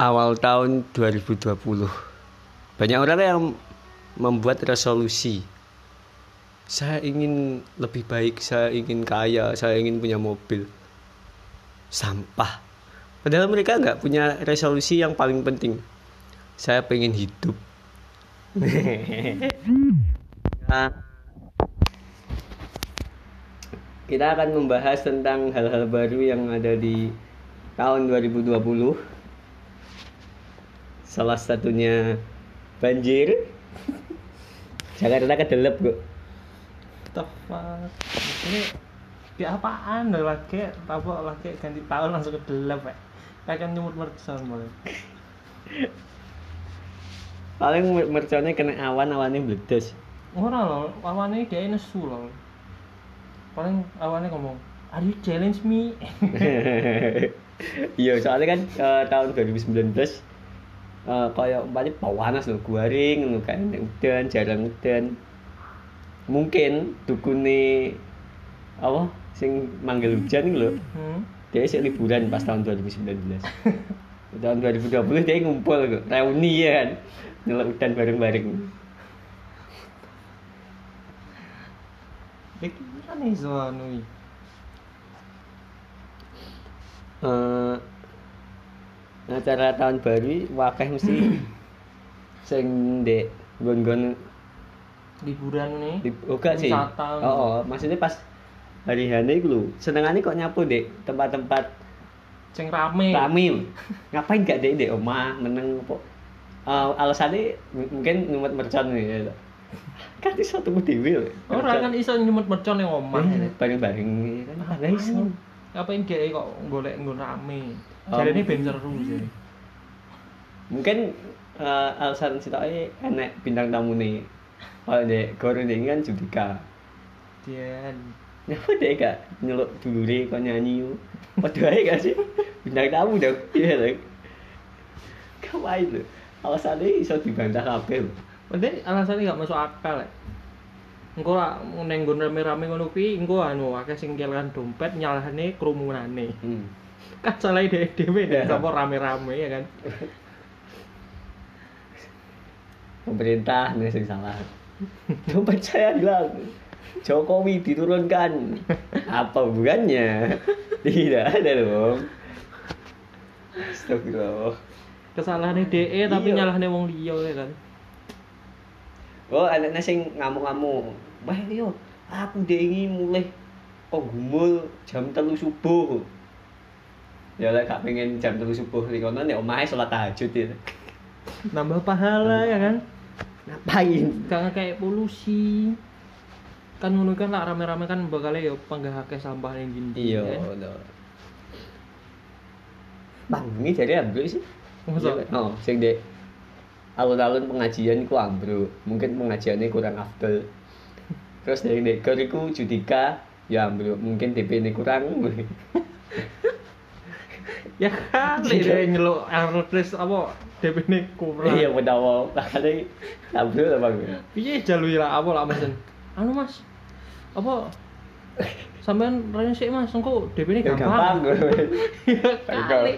Awal tahun 2020 banyak orang yang membuat resolusi. Saya ingin lebih baik, saya ingin kaya, saya ingin punya mobil. Sampah. Padahal mereka nggak punya resolusi yang paling penting. Saya pengen hidup. Nah, kita akan membahas tentang hal-hal baru yang ada di tahun 2020. Salah satunya banjir. Jakarta kedelep kok. The fuck? Ini di apaan lagi? Apa lagi ganti tahun langsung kedelep ya? Kayak nyumut mercon boleh. Paling merconnya kena awan-awannya meledos. Ora lho, awane dia nesu lho. Paling awane ngomong, "Are you challenge me?" Iya, soalnya kan tahun 2019 kayak umpamanya panas lho, garing lho, kayak udan, jarang udan. Mungkin dukune apa sing manggil hujan iki lho. Dia sik liburan pas tahun 2019. Tahun 2020 dia ngumpul kok, reuni ya kan. Nyeluk udan bareng-bareng. Pikiran iso anu iki. Acara tahun baru wakeh mesti sing ndek nggon-nggon Liburan nih. Enggak sih. Oh, maksudnya pas hari hane iku lho. Senengane kok nyapu ndek tempat-tempat Sing rame. Ngapain gak ndek omah meneng apa? Alasane mungkin nyumet mercon ya. Kan iso tuku dhewe lho. Ora kan iso nyumut mercon ning omah. Bareng-bareng kan ora iso. Ngapain dhek kok golek nggon rame. Jarene ben seru sih. Mungkin alasan sitoke enek bintang tamune. Oh, dek, goro dek kan Judika. Dian. Nyapa dek gak nyeluk dulure kok nyanyi yo. Padha ae gak sih? Bintang tamu dong. Iya lho. Kawaii lho. Alasane iso dibantah kabeh lho. Padahal alasannya gak masuk akal ya. Engko lah ning nggon rame-rame ngono kuwi engko anu akeh sing kelan dompet nyalahne krumunane. Kan salah dhewe nek sapa rame-rame ya kan. Pemerintah nih sing salah. Dompet saya hilang. Jokowi diturunkan. Apa hubungannya? Tidak ada dong. Astagfirullah. Kesalahannya DE tapi nyalahne wong liya ya kan. Oh, anaknya sing ngamuk-ngamuk. Wah, yo, aku dengi mulai kok gumul jam 3 subuh. Ya lek gak pengen jam 3 subuh ning kono nek omahe salat tahajud ya. Nambah pahala ya kan. Ngapain? Gak kayak polusi. Kan ngono kan lah rame-rame kan bakal ya panggahake sampah ning ndi. Iya, lho. Bang, ini dari ambruk sih. Masa? Oh, sing dek alun-alun pengajian iku ambruk. Mungkin pengajiannya kurang afdal. Terus dari dek iku Judika ya ambruk. Mungkin DP-ne kurang. Ya kan, dia nyeluk airless apa DP-ne kurang. Iya, menawa makane ambruk lah Bang. Piye jalui lah apa lah Mas? Anu Mas. Apa sampean rene sik Mas, engko DP-ne gampang. Ya kali.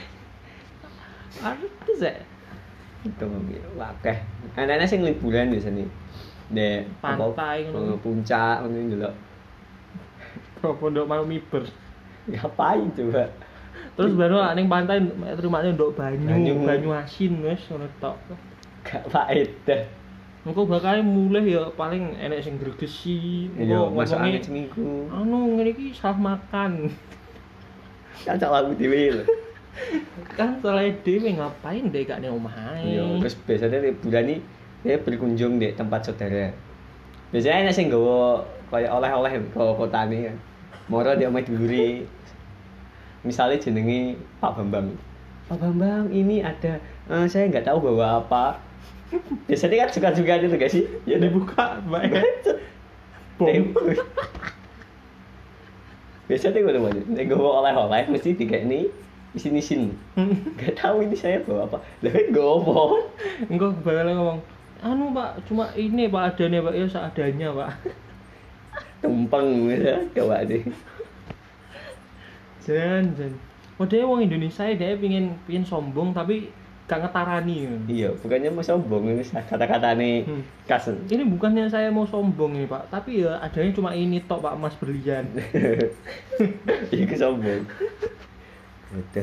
Artis ya. Itu wakeh. Anaknya sing liburan biasanya. Dek Pantai ngono. Puncak ngono ndelok. Pondok mau miber. Ngapain coba? Terus baru ning pantai terimane nduk banyu asin wis ngono tok. Gak faedah. Engko bakal mulih ya paling enek sing gregesi. Iya, masuk angin seminggu. Anu ngene iki salah makan. Cacak lagu dhewe lho. Kan salah dhewe ngapain dek gak ning omah ae. Iya, terus biasanya liburan nih dia berkunjung di tempat saudara. Biasanya enek sing nggawa kaya oleh-oleh ke kotane kan. Moro dia omah dulure. Misalnya jenenge Pak Bambang. Pak Bambang, ini ada saya nggak tahu bawa apa. Biasanya kan suka-suka itu gak sih? Ya dibuka, Mbak. Bom. Biasanya gue tuh nek nggawa oleh-oleh mesti dikekni isin-isin. Gak tahu ini saya bawa apa. Lah nggowo. Engko bakal ngomong, "Anu, Pak, cuma ini Pak adanya, Pak. Ya seadanya, Pak." Tumpeng ya, coba deh. Jan. Modele wong Indonesia dia pingin sombong tapi gak ngetarani. Iya, bukannya mau sombong ini kata-katane khas. Ini bukannya saya mau sombong ini Pak, tapi ya adanya cuma ini tok Pak Mas berlian. Iya sombong. Betul.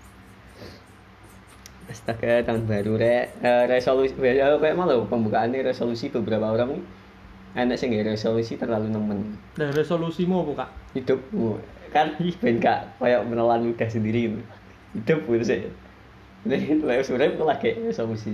Astaga, tahun baru resolusi kayak malu pembukaannya resolusi beberapa orang nih. Enak sih nggak resolusi terlalu nemen. Nah, resolusimu apa Kak? Hidupmu kan ben Kak kayak menelan ludah sendiri gitu. Hidup gitu sih. Jadi sebenarnya aku lagi resolusi.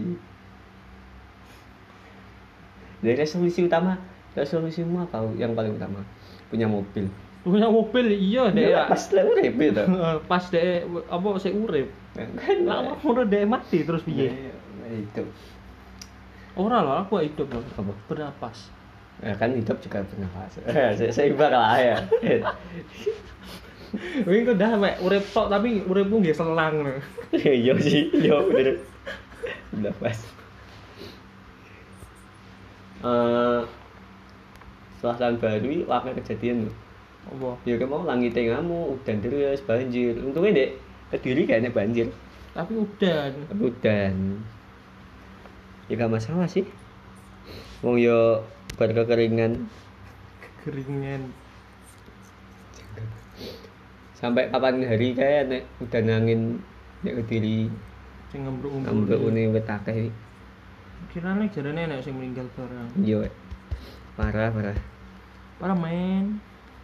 Dari resolusimu apa yang paling utama? Punya mobil. Punya mobil iya deh. Pas urip itu. Pas deh apa sik urip. Kan Lah ora deh mati terus piye? Itu. Ora lah aku hidup loh. Apa? Bernapas. Ya kan hidup juga bernafas. Seimbang lah ya. Wih kok dah mek urip tok tapi uripmu nggih selang lho. Iya sih, iya bener. Bernafas. Setelah tahun baru wakil kejadian loh. Apa? Ya kayak mau langitnya ngamuk, udan terus, banjir. Untungnya dek Kediri kayaknya banjir. Tapi udan. Ya gak masalah sih. Wong yo berkekeringan. Sampai kapan hari kayak nek udan angin nek Kediri Sing ngembruk-ngembruk. ngambrukune wit akeh. Kirane jarane nek sing meninggal barang. Iya. Parah. Parah men.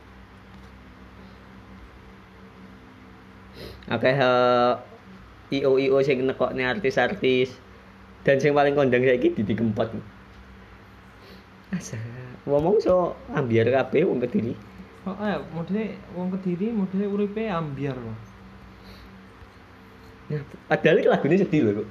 Akeh IO sing nekokne artis-artis. Dan sing paling kondang saiki Didi Kempot. Asa, ngomong so ambiar kabeh wong Kediri. Oh, modele wong Kediri modele uripe ambiar loh. Nah, padahal lagunya sedih loh kok.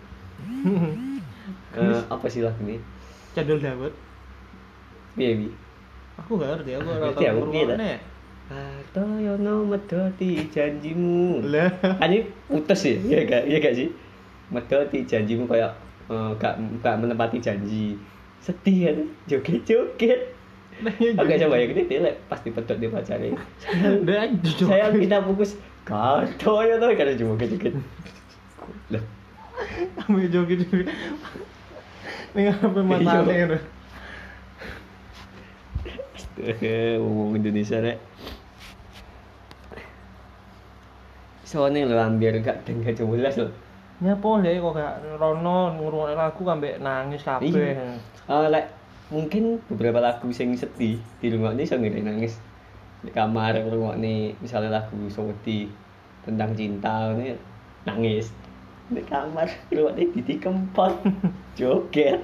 Apa sih lagunya? Candol Dawet. Piye? Aku gak ngerti, aku ora Ngerti tau aku, piye ta? ngrungokne. Atoyono medoti janjimu. Lah, Ini putus ya? Iya gak sih? Medoti janjimu kayak gak menepati janji. Sedih kan? Joget-joget. Oke coba ya gini dia pas dipedot dia pacarnya. Saya minta bungkus Atoyono karena joget-joget. Lah, ambil joget-joget. Ning apa matane ngono. Ngomong Indonesia rek. Soalnya lo ambil gak jelas lo. Nyapa lek kok gak rono ngrungokne lagu ambek nangis kabeh. Lek mungkin beberapa lagu sing sedih di rumah ini saya nggak nangis di kamar ngrungokne misalnya lagu Soweti tentang cinta ini nangis di kamar ngrungokne Didi Kempot joget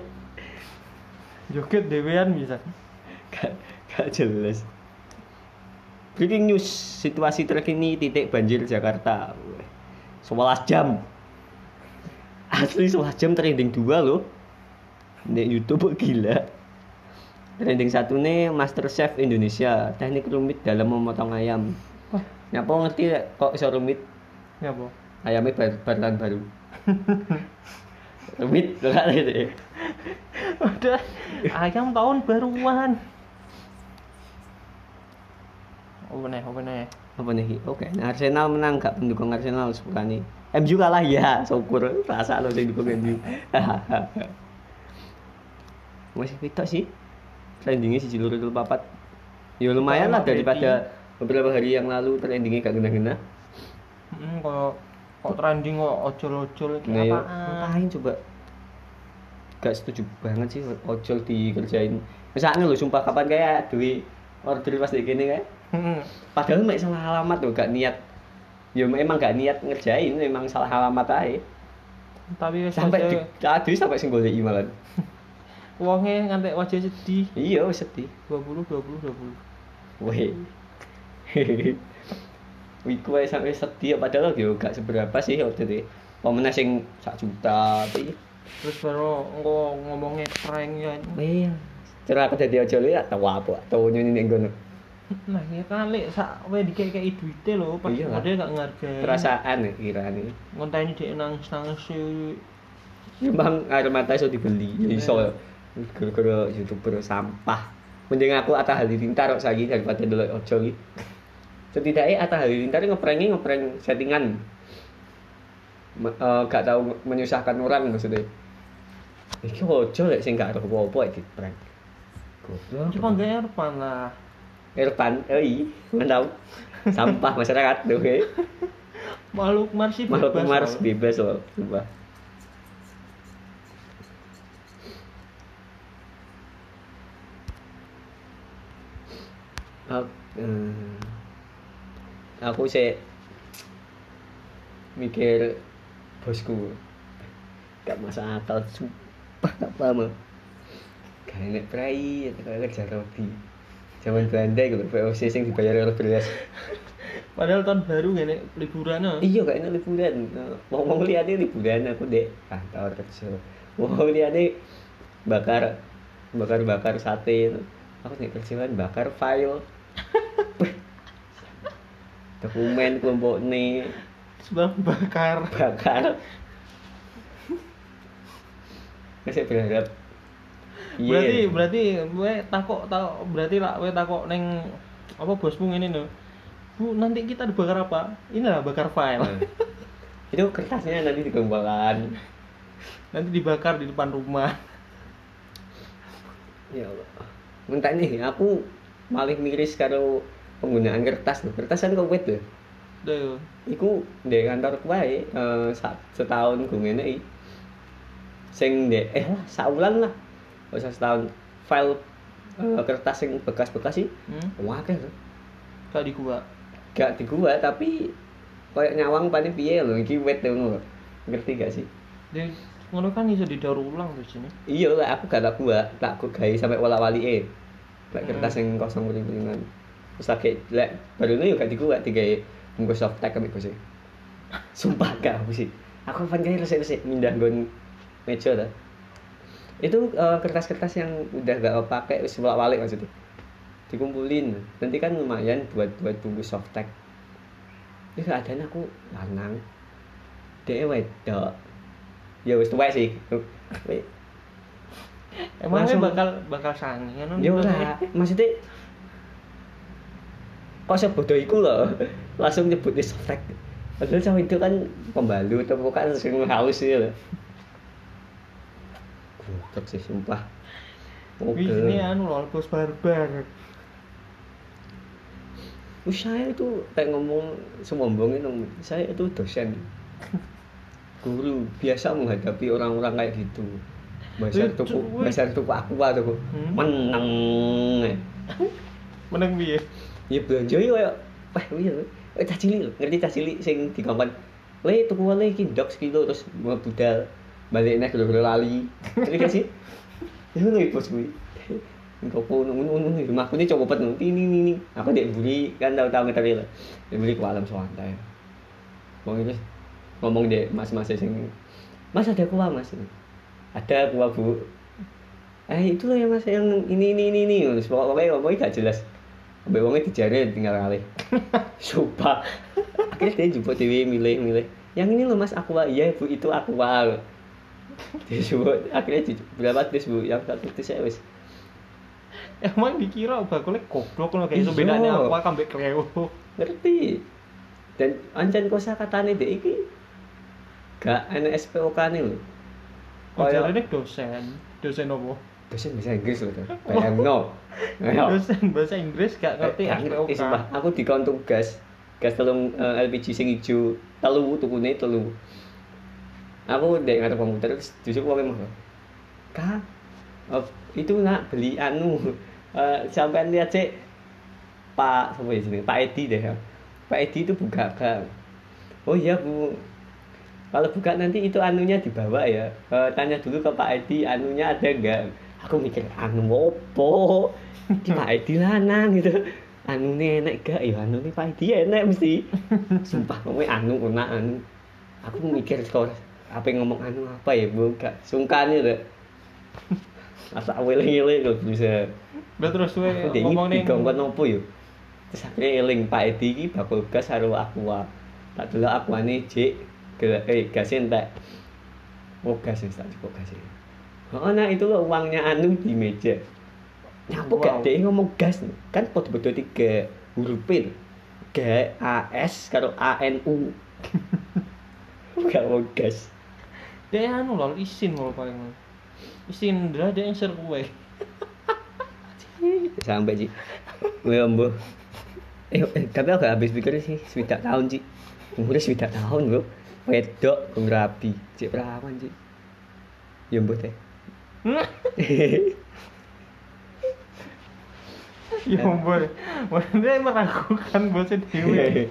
Dewean bisa. gak jelas. Breaking news, situasi terkini titik banjir Jakarta 11 jam. Asli 11 jam trending 2 loh. Di YouTube gila. Trending 1 nih MasterChef Indonesia, teknik rumit dalam memotong ayam. Wah, Nyapa ngerti kok iso rumit? nyapa? Ayamnya bahan baru. Rumit lho gak gitu. Udah ayam tahun baruan. Apa nih? Apa nih? Oke, nah Arsenal menang, gak pendukung Arsenal sepukane. MU kalah ya, syukur rasa lo sing dukung MU. Masih pitok sih. Trendingnya si Jilur itu papat. Ya lumayan lah daripada beberapa hari yang lalu trendingnya gak gena-gena. Kok trending kok ojol-ojol iki Nah, ya, apaan? ngapain coba? Gak setuju banget sih ojol dikerjain. Misalnya lo sumpah kapan kayak duit order pas kayak gini kayak. Padahal mek salah alamat loh, gak niat. Ya emang gak niat ngerjain, memang salah alamat aja. Tapi Sampai tadi sampai sing goleki malan. wonge ngantek wajah sedih. Iya, sedih. 20. Weh. Wiku ae sampai sedih padahal yo gak seberapa sih waktu itu. Pemenang sing 1 juta tapi Terus baru engko ngomongnya prank ya. iya. Cara aku dadi ojol ya tau apa, tau nyuni ning ngono. Nah, ya kali sak wae dikek-keki duite lho, pas Iya lah. dia gak ngargai. Perasaan ya kirane. Ngonteni dhek nangis-nangis sih. Ya bang, air mata iso dibeli. Iso gara-gara YouTuber sampah. Mending aku Atta Halilintar kok saiki daripada ndelok ojol iki. Setidaknya Atta Halilintar ngeprank settingan. gak tahu menyusahkan orang maksudnya. Iki ojo lek sing gak ero apa-apa iki prank. Goblok. Cuma gak Erpan lah. Irfan, mantap. Sampah masyarakat tuh, oke. Makhluk Mars sih Makhluk bebas. Mars bebas loh, sumpah. Aku sih mikir bosku gak masuk akal sumpah apa mah gak enak prai atau kerja roti zaman Belanda gitu VOC sing dibayar oleh belas Padahal tahun baru gini liburan no. iya gak enak liburan ngomong liatnya liburan aku dek kantor kerja ngomong liatnya bakar sate aku nih kerjaan bakar file dokumen kelompok nih Sebab bakar. Saya berharap Berarti gue takok berarti lah gue takok neng apa bosmu ini no. Bu, nanti kita dibakar apa? Inilah bakar file. Itu kertasnya nanti dikembangkan. Nanti dibakar di depan rumah. Ya Allah. Mentah nih, aku malah miris karo penggunaan kertas loh. Kertas kan kok wet loh. Duh. Iku di kantor wae setahun gue ngene iki. Sing saulan lah. Usah setahun file kertas sing bekas-bekas sih. Akeh lho. Gak di gua tapi kayak nyawang paling piye lho iki wet ngono. Ngerti gak sih? Deh, ngono kan iso didaur ulang terus ini. Iya lah aku gak tak gawe sampai wala-walike. Lek kertas sing kosong kuning-kuningan. Terus lagi lek barune yo gak digawe digawe bungkus softtek kami sih. Sumpah gak aku sih. Aku kan kayak resik-resik mindah nggon meja ta. Itu kertas-kertas yang udah gak pakai wis bolak-balik maksudnya. Dikumpulin. Nanti kan lumayan buat bungkus softtek. Ya keadaan aku lanang. Dhek wedok. Ya wis tuwek sih. Emangnya bakal sange kan? Ya ora, maksudnya kok sebodoh iku lho. Langsung nyebut softtek. Padahal sama itu kan pembalut atau bukan sing haus sih lho. Goblok sih sumpah. Ini loh, bos barbar. Saya itu kayak ngomong semombongin saya itu dosen. Guru biasa menghadapi orang-orang kayak gitu. Basar tuku aku tuh. Meneng piye? Ya belanja yo kayak cah cilik lho, ngerti cah cilik sing dikongkon. Tuku wae iki ndok sekilo terus budal balik nek lho lali. Ngerti gak sih? Itu lho bos kuwi. Engko ngono rumahku ini coba pet ini. Aku dek buri kan tahu ngeteri lho. Dek buri ke alam santai. Wong iki ngomong dek mas-mas sing Mas ada kuah Mas. Ada kuah Bu. Itu loh ya Mas yang ini. Pokoknya ngomongnya gak jelas. Sampai wongnya dijari tinggal ngalih. Sumpah. Akhirnya dia jumpa dewe milih. Yang ini loh Mas aqua. Iya Bu itu aqua. Dia sebut akhirnya berapa tes Bu? Yang satu tes saya wis. Emang dikira bakulnya goblok loh kayak bedanya aqua kambek kreo. Ngerti. Dan ancen kosakatane dek iki gak ana SPOK-ne lho. Kaya ini dosen apa? Dosen bahasa Inggris lho. Bayangno. Dosen bahasa Inggris gak ngerti SPOK. Sumpah, aku dikon tugas telung LPG sing ijo telu tukune telu. Aku ndek ngarep komputer terus disuruh wae mah. Kak, itu nak beli sampean lihat cek Pak siapa ya jenenge? Pak Edi deh. Pak Edi itu buka gang. Oh iya Bu. Kalau buka nanti itu anunya dibawa ya. Tanya dulu ke Pak Edi anunya ada enggak. Aku mikir anu opo? Di Pak Edi lanang gitu. Anune enak gak ya anune Pak Edi enak mesti. Sumpah ngomongnya anu. Aku mikir kok apa ngomong anu apa ya Bu gak sungkan lho. Asa eling-eling lho bisa. Lah terus kowe ngomong ning dikongkon opo yo. Terus akhirnya eling Pak Edi iki bakul gas karo aqua. Tak delok aquane jek gas entek. Oh gas wis tak cukup gas. Oh nah itu loh uangnya anu di meja. Nyapa gak dhek ngomong gas kan podo-podo 3 huruf P. G A S karo A N U. gak mau gas. Dia anu lho isin lho paling. Isin ndak dia yang ser kowe. Sampai Ci. Mbo. Tapi aku gak habis pikir sih 7 tahun Ci. Umurnya 7 tahun bro. Wedok wong rapi, cek perawan Ci. Ya mbuh teh. Ya ampun. Dia meragukan bosnya dhewe.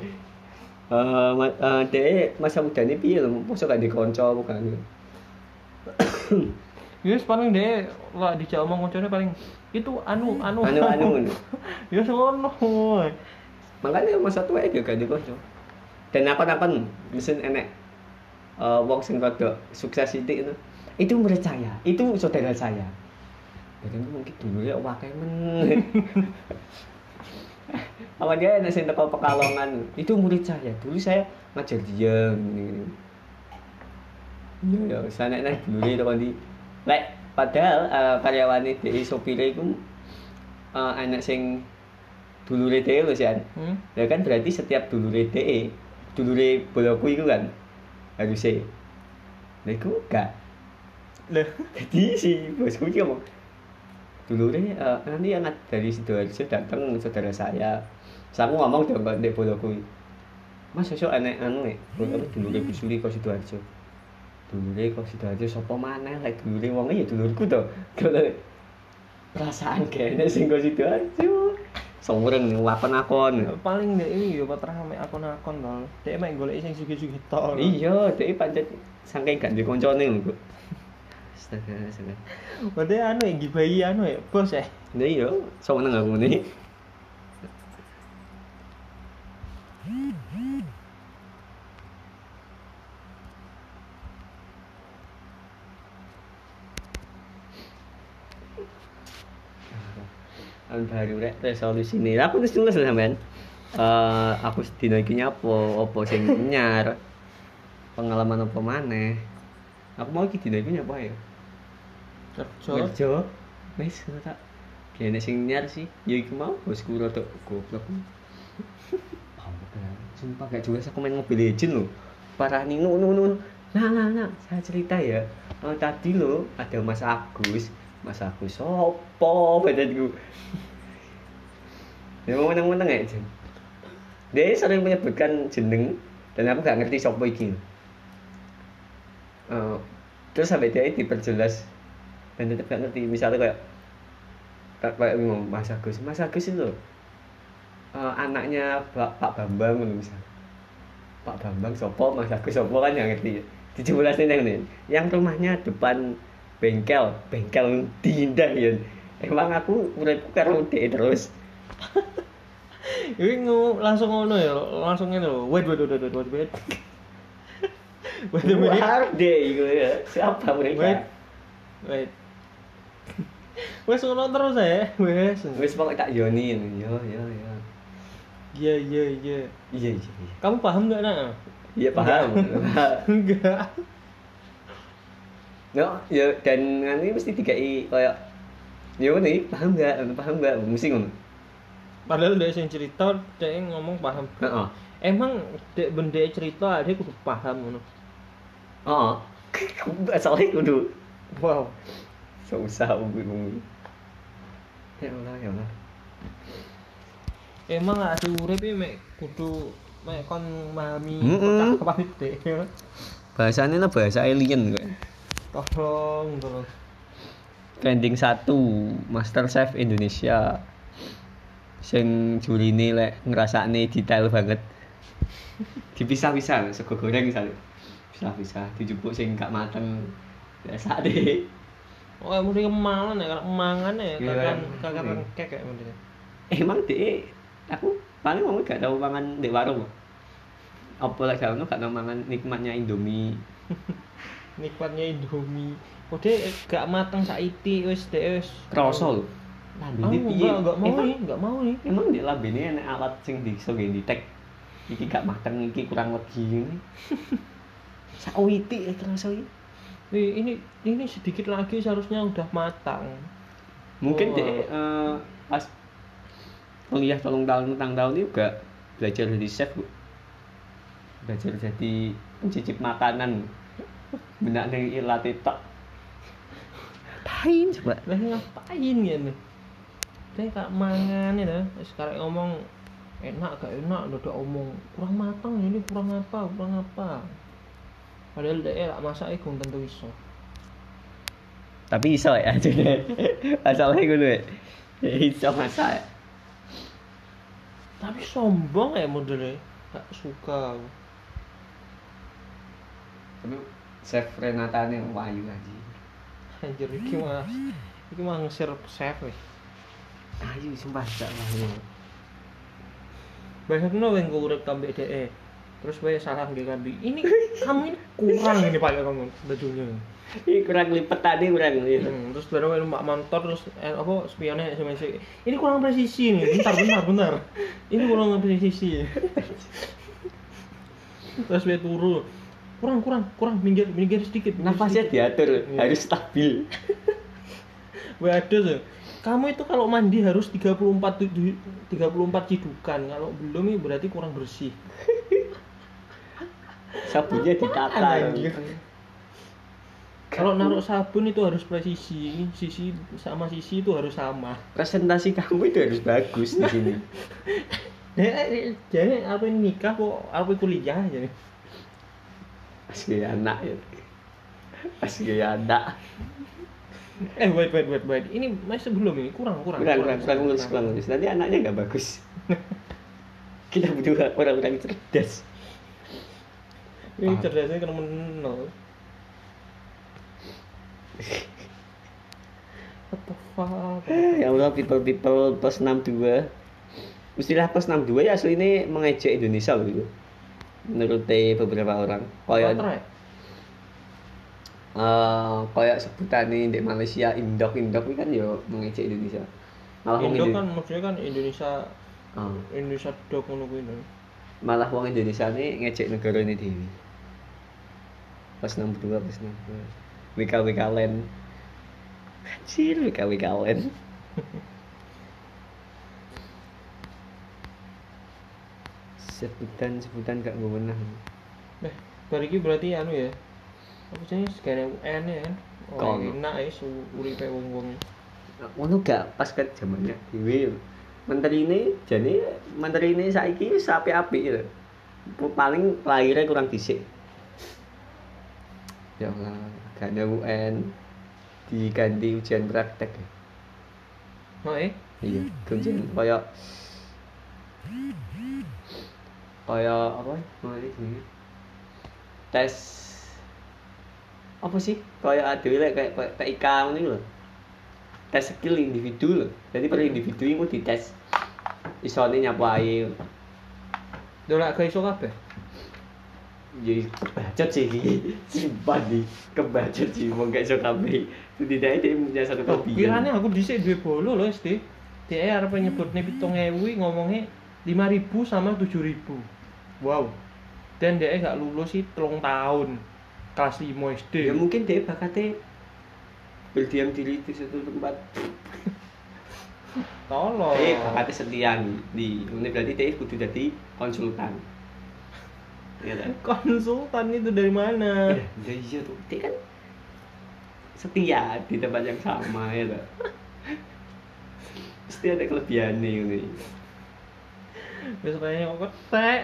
Dek masa mudane piye lho? Mosok gak dikonco bukan. Yes paling deh lah dijak omong koncone paling itu anu. Ya ngono. Makanya masa tua gak dikonco. Dan apa-apa mesen enek wong sing rada sukses sithik itu murid saya, itu saudara saya. Jadi mungkin dulu ya wakai men. Apa dia enek sing teko Pekalongan, itu murid saya. Dulu saya ngajar dia gini. Iya ya, sana nek dulu itu kan di lek padahal karyawane DI sopire iku enek sing dulure DE lho sih. Ya kan berarti setiap dulure DE, dulure boloku iku kan harusnya. Lah iku gak. Lah, Jadi si bosku iki ngomong dulure nanti anak dari Sidoarjo datang saudara saya. Terus aku ngomong dong ndek boloku. Mas sesuk enek anu nek dulure busuri kok Sidoarjo. Dulure kok Sidoarjo sapa maneh lek dulure wong ya dulurku to. Perasaan kene sing kok Sidoarjo. Somureng lakon-lakon. paling dek ini yo patrah mek akon-akon to. Dek mek goleki sing sugih-sugih tok. Iya, dhek pancet saking gak ndek koncone lho, Kok. Astaga. Berarti anu ya gibahi anu ya bos ya. Lah iya, seneng aku nih. Baru rek resolusi nih. Aku wis nulis lah sampean. Aku sedina iki nyapo, apa sing nyar. Pengalaman apa maneh. Aku mau iki dina iki nyapa ya? Kerja. Wis tak. Kene sing nyar sih. Ya iku mau bosku rada goblok. Sumpah gak jelas aku main Mobile Legends loh. Parah nih nun. Nah, saya cerita ya. Tadi loh ada Mas Agus sopo badanku. Dia mau menang-menang ya, Jen. Dia sering menyebutkan jeneng dan aku gak ngerti sopo iki. Terus sampai dia diperjelas dan tetap gak ngerti. Misalnya kayak ngomong Mas Agus itu anaknya Pak Bambang misalnya. Pak Bambang sopo, Mas Agus sopo kan yang ngerti. Dijelasin yang nih. Yang rumahnya depan bengkel tindak ya. Emang aku uripku karo dhek terus. Ini langsung ngono ya, langsung ngene lho. Wait. Harus deh iku ya. Siapa mereka? Wait. Wes ngono terus ya. Wes pokok tak yoni yo. Iya. Iya. Kamu paham enggak, Nak? Iya paham. Enggak. No, ya dan ini mesti dikai kayak ya nih paham enggak mesti ngono. Padahal dia sing cerita, dia ngomong paham. Heeh. Emang dek benda cerita dia kudu paham ngono. Heeh. Asalnya kudu. Wow. Susah umum. Ya Allah. Emang ada urip iki mek kudu mek kon memahami percakapan dek. Bahasane bahasa alien kok. Tolong. Trending 1 MasterChef Indonesia. Sing jurine lek ngrasakne detail banget. Dipisah-pisah sego goreng misalnya. Pisah-pisah dijupuk sing gak mateng. Biasa deh. Oh, mesti kemalan ya, kalau mangan ya kakak kayak mending. Emang dek aku paling mau gak tau mangan di warung. Apa lek gak tau mangan nikmatnya Indomie. Nikmatnya Indomie. Oh dia gak mateng saiki wis dek wis Kroso lho. Lambene piye? Enggak mau nih. Emang di lambene enek alat sing iso ngene ditek. Iki gak mateng, iki kurang legi ngene. Sakwiti kroso iki. Ini sedikit lagi seharusnya udah matang. Mungkin dek pas kuliah 3 tahun ini juga belajar jadi chef, Bu. belajar jadi pencicip makanan. Benak ning ilat tok. Ngapain coba? Lah ngapain ya nih? Saya kak mangan ya, sekarang ngomong enak gak enak, udah omong kurang matang ini kurang apa. Padahal dia lah masak belum tentu iso. Tapi iso ya jadi masalahnya ngono ya. Iso masak. Tapi sombong ya modelnya, gak suka. Tapi chef Renata nih wayu aja. Anjir iki mah ngesir chef weh. Ayu sumpah gak wayu. Bayangno wong urip tambah DE. Terus wae salah nggih kambi. Ini kamu ini kurang ini pakai kamu bajunya. Ini kurang lipet tadi kurang gitu. Terus baru wae numpak motor terus apa spionnya SMS. Ini kurang presisi nih. Bentar. Ini kurang presisi. Terus wae turu. Kurang minggir sedikit. Nafasnya diatur, harus stabil. Wae ada tuh. Kamu itu kalau mandi harus 34 cidukan. Kalau belum ini berarti kurang bersih. Sabunnya ditata. Kalau naruh sabun itu harus presisi. Sisi itu harus sama. Presentasi kamu itu harus bagus di sini. Jadi apa ini nikah kok apa kuliah aja. Asli anak ya. Asli anak. Wait. Ini masih belum ini kurang Ngurus. Nanti anaknya nggak bagus. Kita butuh orang-orang cerdas. Ini cerdasnya kena menol. What the fuck? Ya Allah, people plus 62. Istilah plus 62 ya asli ini mengejek Indonesia loh itu. Menurut beberapa orang. Kayak sebutan nih di Malaysia indok ini kan yo mengejek Indonesia. Malah indok kan maksudnya kan Indonesia Indonesia dok ngono kuwi. Malah wong Indonesia nih ngejek negara ini dewi. Plus 62. WKWK Land. Kecil WKWK Land. Sebutan gak bewenang. Bariki berarti anu ya. Apa jenenge segane UN ya kan. Oh, enak ya uripe wong-wong. Ngono gak pas ke zamannya dhewe. Menteri ini saiki wis apik-apik lho. Paling lahirnya kurang dhisik. Ya Allah, gak ada UN diganti ujian praktek. Oh iya, ujian kayak apa ini? Tes apa sih? Kayak ada kayak TIK ngono lho. Tes skill individu lho. Jadi per individu iku dites. Isone nyapu ae. Dolak gak iso kabeh. Jadi kebacut sih simpan di kebacut sih mau gak iso kabeh. Setidaknya dia punya satu kelebihan. Pirane aku dhisik duwe bolo lho SD. Dia arep nyebutne 7.000 ngomongnya 5.000 sama 7.000. Wow. Dan dia gak lulus sih 3 tahun. Kelas 5 SD. Ya mungkin dia bakatnya berdiam diri di satu tempat. Tolong. Bakatnya setia di ini berarti dia kudu jadi konsultan. Ya kan? Konsultan itu dari mana? Iya tuh, dia kan setia di tempat yang sama ya tak? Pasti ada kelebihannya ini. Biasanya kok ketek.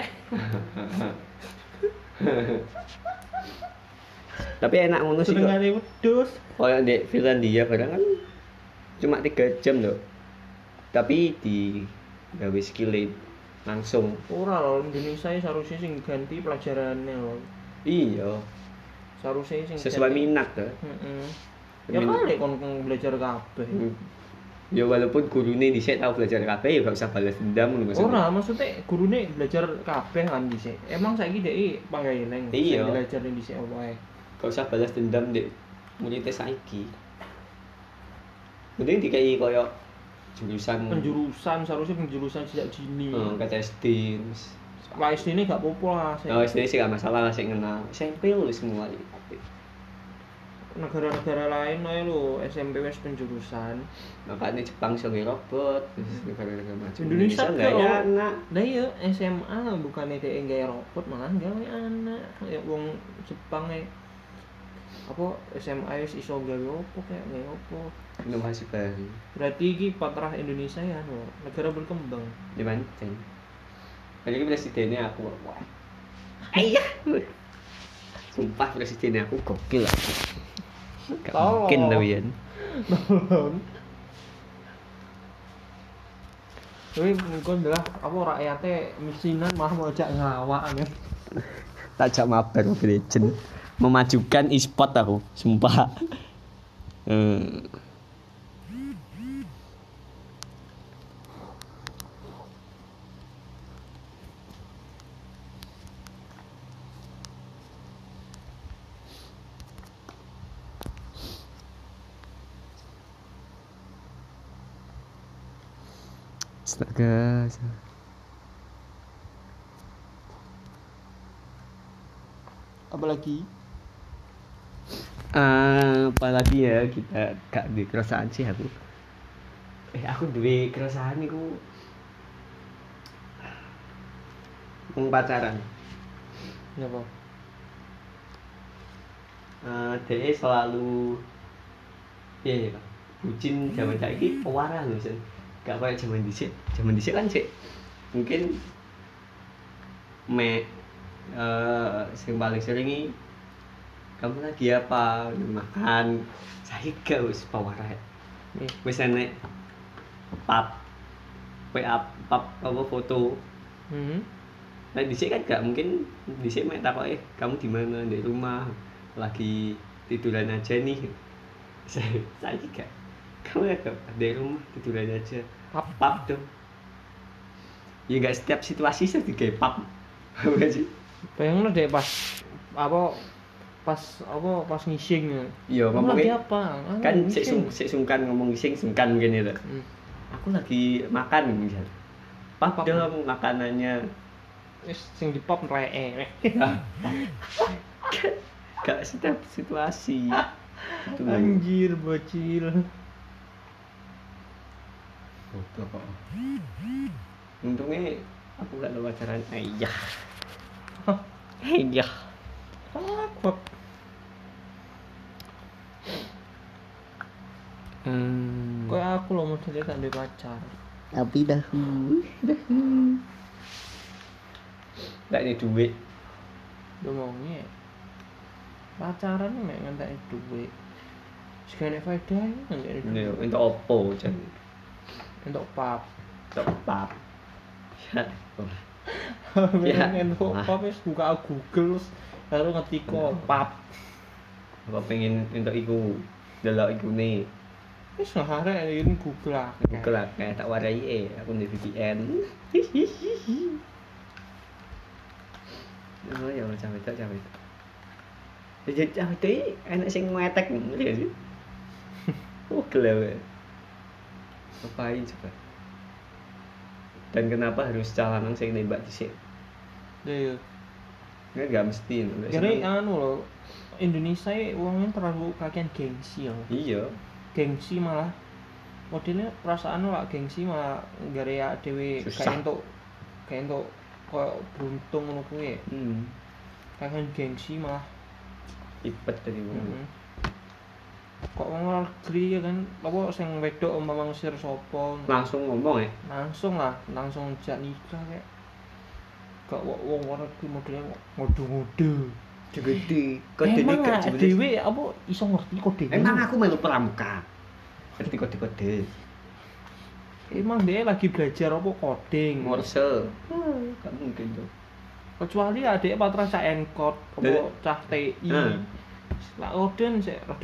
Tapi enak ngono sih kok. Senengane wedhus. Kayak di Finlandia barang kan cuma 3 jam loh. Tapi di gawe skill langsung. Ora lho, Indonesia seharusnya sing ganti pelajarannya lho. Iya. Seharusnya sing sesuai minat tuh. Ya kali kon belajar kabeh. Ya walaupun gurune dhisik tau belajar kabeh ya gak usah balas dendam ngono maksudnya. Ora, maksudnya gurune belajar kabeh kan dhisik. Emang saiki dhek panggaileng sing belajar dhisik wae. Gak usah balas dendam dek muridnya saiki. Mending dikai koyo penjurusan sejak dini. Kata SD. Wah, SD ini gak apa-apa lah. SD sih gak masalah lah sih kenal. SMP lu semua. negara-negara lain ae lho SMP wis penjurusan. Makanya Jepang iso nge robot, terus negara-negara maju. Indonesia enggak ya anak. Lah iya SMA bukannya dhek gawe robot malah gawe anak. Ya wong Jepang apa SMA wis iso gawe opo kayak gawe opo. Inovasi baru. Berarti iki patrah Indonesia ya negara berkembang. Di mana? Jadi presidennya aku wah. Ayah. Sumpah presidennya aku gokil lah. Gak mungkin tapi ya. Tapi mungkin adalah apa rakyatnya misinan malah mau ajak ngelawak kan. Tak mabar Mobile Legend. Memajukan e-sport aku, sumpah. Astaga. Apalagi apalagi ya kita gak duwe kerasaan sih aku. Aku duwe kerasaan iku wong pacaran. Napa? Dia selalu ya bucin zaman saiki pewarah lho sen. Gak kayak zaman dhisik. Zaman dhisik kan sik mungkin sing paling sering iki kamu lagi apa makan saya gak wis pewarah wis enek pap WA pap apa foto. Nah dhisik kan gak mungkin dhisik mek takoke kamu di mana di rumah lagi tiduran aja nih. Saya gak kamu ya gak di rumah tiduran aja pap dong. Ya gak setiap situasi saya digawe pap. Apa sih? Bayangno deh pas ngising. Iya ngomongnya apa? Kan sik sungkan ngomong ngising sungkan mungkin itu. Aku lagi makan misal. Pap dong makanannya. Wis sing dipop reke. Gak setiap situasi. Itu Anjir bocil. Bodoh kok. Untungnya aku gak ada pacaran. Ayah. Ayah. Apa? Kayak aku loh modelnya gak ada pacar. Tapi dahulu. Gak ada duit. Ngomongnya pacaran mek ngentek duit. Segane faedah ngentek duit. Untuk opo jan. Untuk pap. Untuk pap. Ya. Ya untuk pap wis buka Google lalu ngetik pap. Apa pengen untuk iku delok ikune. Wis ngarep ini Google lah. Google lah kayak tak warai aku di VPN. Oh ya sampe tak. Jadi cawete enak sing ngetek ngerti gak sih? Oh gila. Ngapain coba? Dan kenapa harus calanang sing nembak dhisik? Iya. Enggak mesti. Jadi anu loh, Indonesia uangnya terlalu kakean gengsi ya. Iya. Gengsi malah modelnya perasaan lah gengsi malah gara-gara dhewe kayak entuk koyo beruntung ngono kuwi. Kakean gengsi malah ipet dari wong. Kok wong negeri ya kan apa sing wedok umpama ngusir sapa langsung ngomong ya. Langsung jak nikah kayak gak wong luar negeri modelnya ngode-ngode gede kode nikah dhewe apa iso ngerti kode. Emang aku melu pramuka ngerti kode-kode. Emang dia lagi belajar apa coding Morse. Gak mungkin tuh. Kecuali adek patra cah enkot apa cah TI. Lah oden sik rada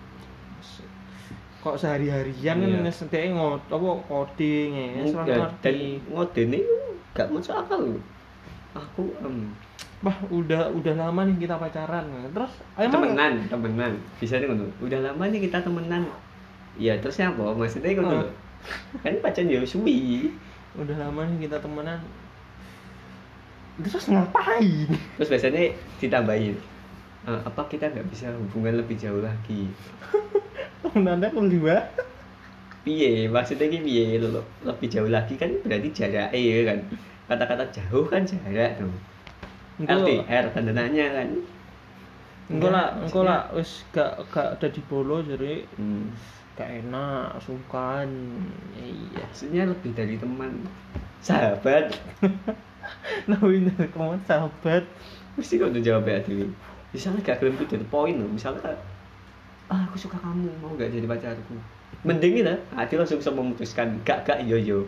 kok sehari-harian kan wis dhek apa coding wis ora ngerti. Ngodene gak masuk akal lho. Aku Wah, udah lama nih kita pacaran. Terus temenan. Bisa nih ngono. Udah lama nih kita temenan. Iya, terusnya apa? Maksudnya ngono. Kan pacaran ya suwi. Udah lama nih kita temenan. Terus ngapain? Terus biasanya ditambahin. apa kita nggak bisa hubungan lebih jauh lagi? Nanda kedua. Piye maksudnya ki piye lebih jauh lagi kan berarti jarak ya kan, kata-kata jauh kan jarak tuh. LDR tanda nanya kan. Engko lah wis gak ada di bolo jadi gak enak sungkan. Iya, maksudnya lebih dari teman, sahabat. Nawin dari teman sahabat. Mesti kok udah jawab ya Dewi. Misalnya gak gelem to the point loh. Misalnya aku suka kamu, mau gak jadi pacarku. Mending itu, dia langsung bisa memutuskan gak yo.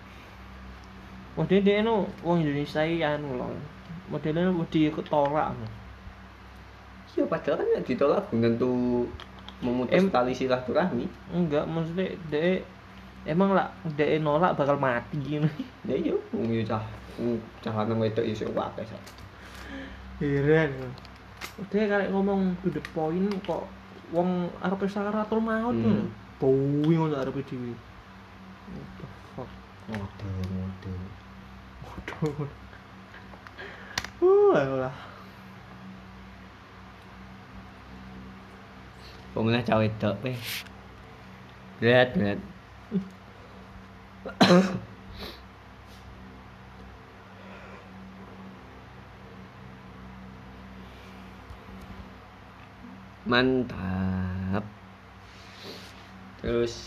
Model no wong Indonesia anu lho. Modelnya wedi ketolak. Iya padahal kan gak ditolak belum tentu memutus tali silaturahmi. Enggak, maksudnya dia emang lah dia nolak bakal mati gitu. Ya iya, wong yo cah lanang wedok iso wae sak. Heran. Dia karek ngomong to the point kok wong arep sakaratul maut lho. Bowi ngono arep dhewe. What the fuck? Waduh. Ayolah. Pokoknya cawe wedok weh. Berat. Mantap. Terus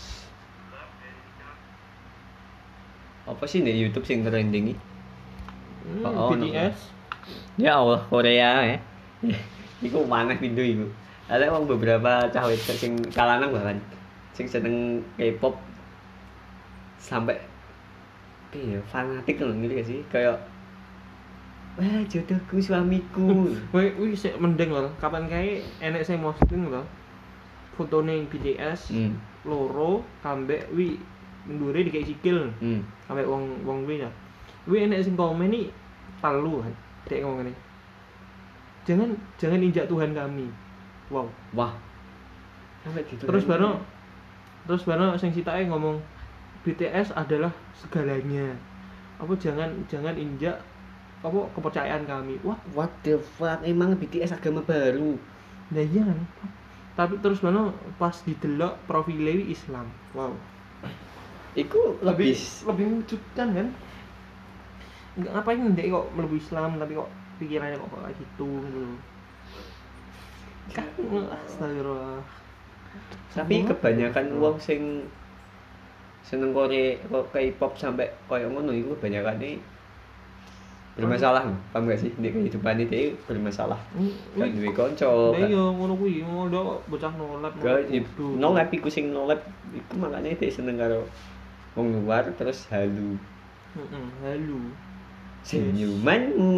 apa sih nih YouTube sing trending iki? BTS. Ya Allah, Korea ya. Iku maneh video iku. Ada wong beberapa cah wedok sing kalanang bahkan sing seneng K-pop sampai piye fanatik lho ngerti gak sih? Kayak wah jodohku suamiku. Wih sik mending lho. Kapan kae enek sing posting lho. Fotone BTS loro kambek wi ndure dikek sikil. Kambek wong wi ya. Wi enek sing komen iki telu kan. Dek ngomong ngene. Jangan injak Tuhan kami. Wow. Wah. Sampai gitu. Terus baru sing sitake ngomong BTS adalah segalanya. Apa jangan injak apa kepercayaan kami. What the fuck? Emang BTS agama baru. Nah iya kan. Tapi terus baru pas didelok profile Islam. Wow. Iku lebih mewujudkan kan. Enggak ngapain ndek kok mlebu Islam tapi kok pikirannya kok kayak gitu gitu. Kan astagfirullah. Tapi kebanyakan wong sing seneng K-pop sampai koyo ngono iku kebanyakan iki bermasalah. Paham gak sih? Nek kehidupan iki bermasalah. Kan duwe kanca. Lah iya ngono kuwi, ngono bocah nolep. Nolep iku sing nolep iku makane dhek seneng karo wong luar terus halu. Halu. Senyumanmu.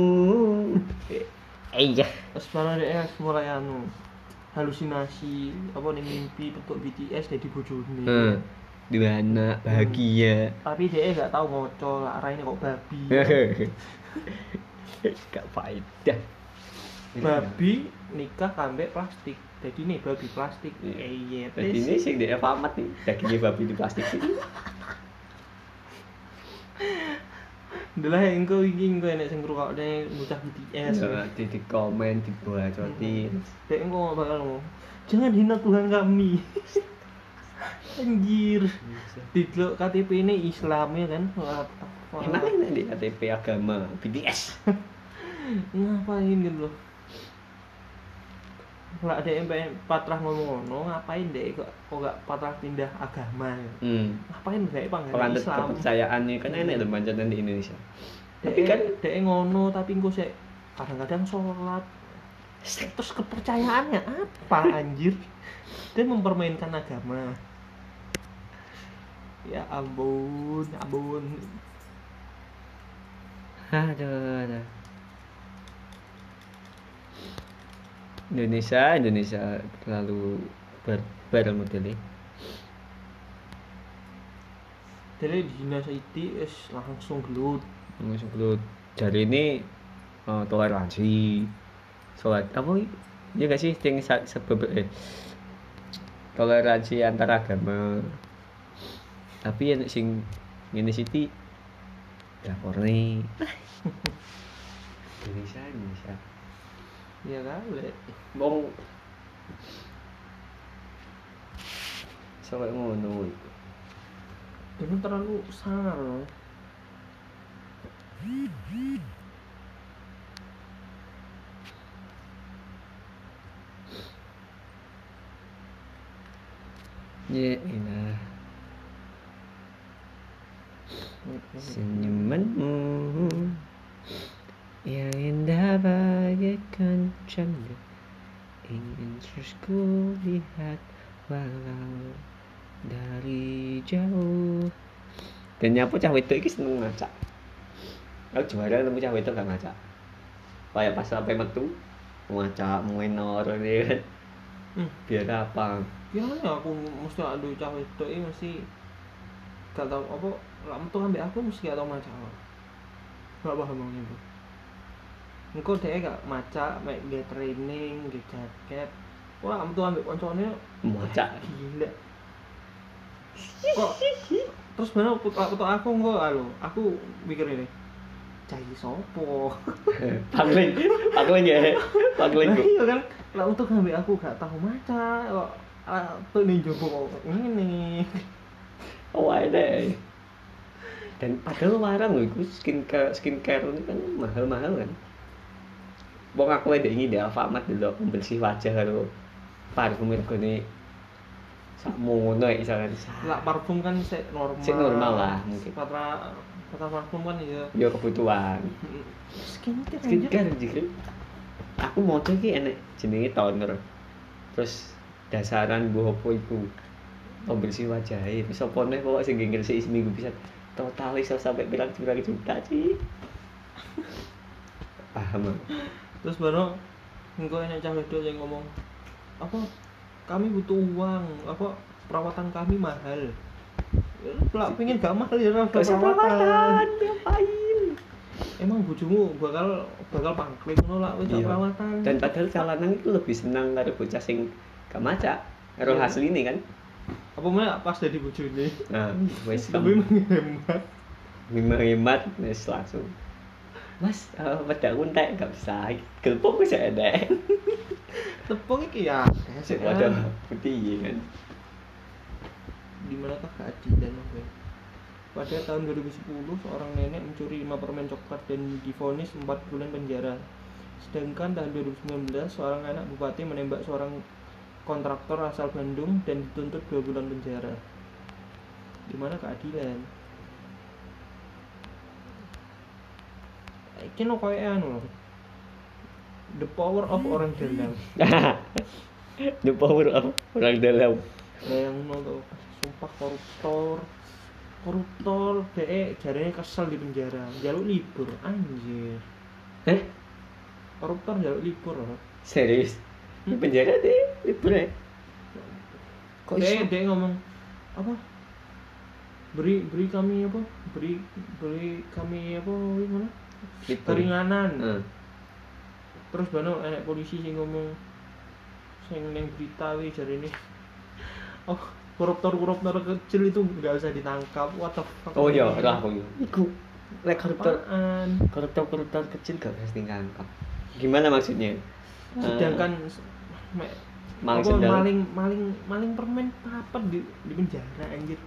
Iya. Terus malah dia mulai halusinasi apa nih mimpi bentuk BTS jadi bojone. Dua anak bahagia. Tapi dia gak tahu ngoco, arahnya kok babi. Gak faedah. Babi nikah kambek plastik. Jadi nih babi plastik. Iya. Jadi ini sing dia pamat nih. Dagingnya babi di plastik sih. Adalah engko enek sing ngrungokne bocah BTS. Di komen, dibacotin. Dek engko bakal ngomong, "Jangan hina Tuhan kami." Anjir. Didelok KTP ini Islam ya kan. Enak di KTP agama BTS. Ngapain gitu loh. Lah ada yang patrah ngomong-ngomong, ngapain deh kok gak patrah pindah agama ya? Ngapain deh panggilan Islam? Kepercayaannya kan enak tuh panjatan di Indonesia. Tapi kan deh ngono tapi engko sik kadang-kadang sholat. Terus kepercayaannya apa anjir? Dia mempermainkan agama. Ya ampun. Aduh. Indonesia terlalu barbar modelnya. Jadi di Dinas IT langsung gelut. Jadi ini toleransi. Sholat apa ya gak sih yang sebab toleransi antar agama. Tapi yang sing ngene siti laporne. Indonesia. Ya kali. Wong sampai ngono iku. Ini terlalu sangar loh. Ya elah. Senyumanmu yang indah bagaikan canda, ingin terus ku lihat walau dari jauh. Dan nyapu cah wedok iki seneng ngacak. Aku juara nemu cah wedok gak ngacak. Kayak pas sampai metu ngacak menor kan. Biar apa? Gimana aku mesti ada cah wedok iki mesti gak tau apa lak metu ambek aku mesti gak tau macak. Gak paham wong itu. Engko dhek gak macak mek nge training, nge jaket. Wah, metu ambek koncone Macak. Gila. Kok terus bener aku engko aku mikir ini. Cai sopo? Pangling ya. Pangling. Iya kan, lak metu ambek aku gak tahu macak kok tuh ning jopo kok ngene. Oh ada. Dan padahal warang loh, itu skincare ini kan mahal-mahal kan. Wong aku ada ingin di Alfamart dulu pembersih wajah karo parfum regane sakmono ya misalkan. Lah parfum kan sik normal. Sik normal lah mungkin. Kata parfum kan ya kebutuhan. Skincare juga. Aku mau tuh ki enek jenenge toner. Terus dasaran mbok apa iku? Pembersih wajah wis apa neh kok sing ngresiki seminggu bisa total iso sampai pirang-pirang juta sih. Paham. Terus baru engko enek cah wedok yang ngomong apa kami butuh uang, apa perawatan kami mahal. Lah pengen gak mahal ya perawatan. Ngapain? Emang bojomu bakal pangkling ngono lah wis perawatan. Dan padahal calanan itu lebih senang karo bocah sing gak macak. Karo hasil ini kan. Apa mana pas jadi bojone. Nah, wis lebih menghemat wis langsung. Mas, wedak entek gak bisa. Gelpong wis ada. Tepung iki ya. Sik wadah putih kan. Di manakah keadilan Mas? Pada tahun 2010, seorang nenek mencuri 5 permen coklat dan divonis 4 bulan penjara. Sedangkan tahun 2019, seorang anak bupati menembak seorang kontraktor asal Bandung dan dituntut 2 bulan penjara. Di mana keadilan? Iki no koyo anu. The power of orang dalam. The power of orang dalam. Bayangno tuh, sumpah koruptor jarene kesel di penjara, jaluk libur anjir. Koruptor jaluk libur loh. Serius? Di penjara deh libur ya? Kok dia ngomong apa? Beri kami apa? Beri kami apa gimana? Keringanan. Terus bano enek polisi sing ngomong sing ning berita wi jarene oh koruptor kecil itu nggak usah ditangkap. What the fuck? Oh iya, ora aku. Iku lek koruptor kecil gak harus ditangkap. Gimana maksudnya? Sedangkan maling permen apa di penjara anjir.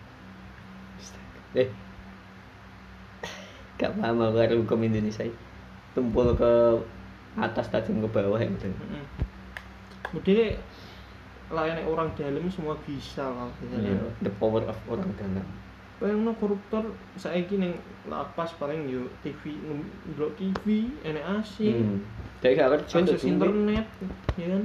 Gak paham aku karo hukum Indonesia. Tumpul ke atas tajam ke bawah ya betul. Jadi layanan orang dalam semua bisa kalau the power of orang dalam. Bayangno koruptor saiki ning lapas paling yo TV ndelok TV enek AC. Dek gak kerja akses internet ya kan.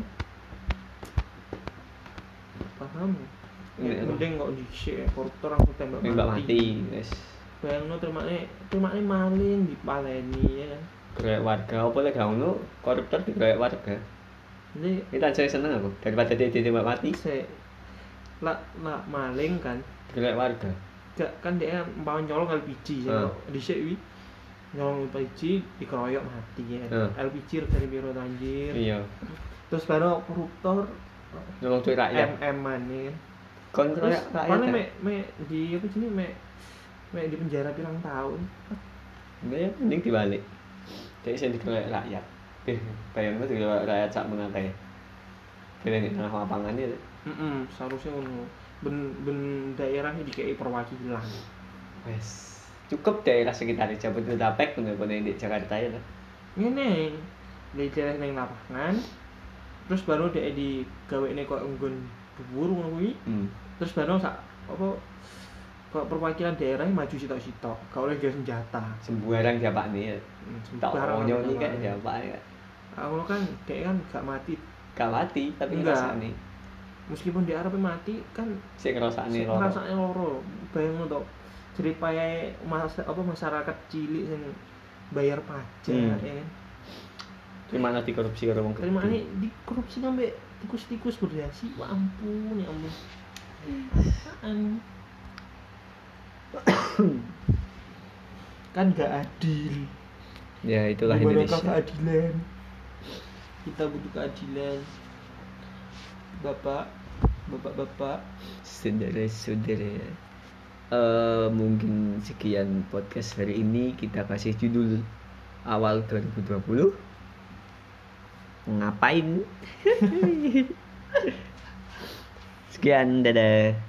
Paham. Mending kok dhisik koruptor aku tembak mati. Wes. Bayangno termakne maling dipaleni ya kan. Gerek warga apa lek gak ngono koruptor digerek warga. Jadi kita aja seneng aku daripada dia ditembak mati. Lah maling kan gerek warga. Gak kan dia mau nyolong LPG ya. Dhisik wi nyolong LPG dikeroyok mati ya. LPG dari biro anjir. Iya. Terus baru koruptor nyolong duit rakyat. MM-an ya kan. Kon rakyat. Kan me di apa sini me di penjara pirang tahun. Enggak ya, mending dibalik. Jadi saya dikeroyok rakyat. Bayangno juga rakyat sak menate. Dene ning tengah lapangan itu. Seharusnya ngono. Ben daerah iki dikei perwakilan. Wes, cukup daerah sekitar Jabodetabek bener-bener di Jakarta ya. Ngene. Di daerah ning lapangan. Terus baru dhek digawekne kok nggon dhuwur ngono kuwi. Terus baru sak apa kok perwakilan daerah maju sitok-sitok, gak oleh gawe senjata. Sembarang diapakne ya. Tak onyo iki kayak diapak ya. Aku kan dhek kan gak mati. Gak mati tapi ngrasani. Meskipun dia arepe mati kan sik ngrasani loro. Ngrasane loro. Bayangno to. Jeripae masyarakat cilik sing bayar pajak ya kan. Gimana dikorupsi karo wong gede? Gimana dikorupsi sampai tikus-tikus berdasi. Wah ampun ya ampun. Kan gak adil. Ya itulah Indonesia. Keadilan. Kita butuh keadilan. Bapak, saudara-saudara. Mungkin sekian podcast hari ini. Kita kasih judul awal 2020. Ngapain? Sekian, dadah.